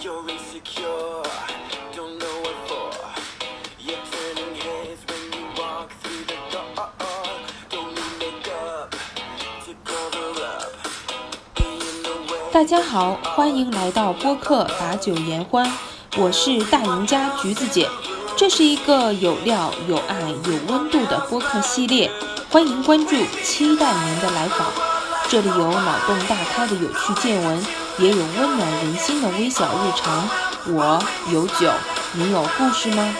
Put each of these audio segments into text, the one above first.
You're insecure, don't know what for. You're turning heads when you walk through the door. Don't need makeup to cover up. In the way. 大家好，欢迎来到播客把酒言欢，我是大赢家橘子姐。这是一个有料、有爱、有温度的播客系列，欢迎关注，期待您的来访。这里有脑洞大开的有趣见闻，也有温暖人心的微小日常。我有酒，你有故事吗？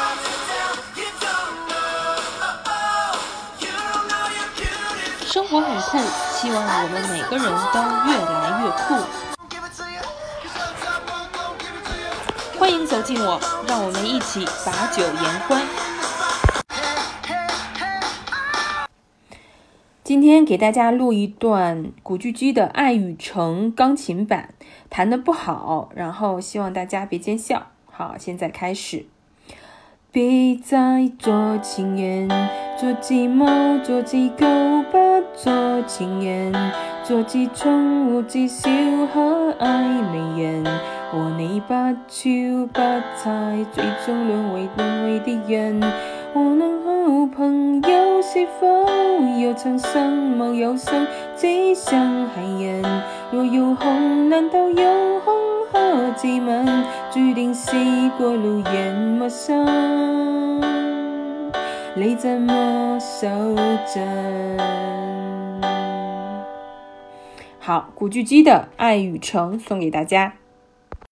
生活很酷，希望我们每个人都越来越酷。欢迎走进我，让我们一起把酒言欢。今天给大家录一段古巨基的《爱与诚》钢琴版，弹得不好，然后希望大家别见笑。好，现在开始。别再做情人，做只貓，做只狗，不做情人，做只寵物，只小可愛美人，和你不超不猜，最終淪為的人。我能好朋友是否有曾相貌有心，只像係人？若要紅，難道有空和自問，注定是過路人陌生，你怎麼守陣？好，古巨基的《愛與誠》送給大家。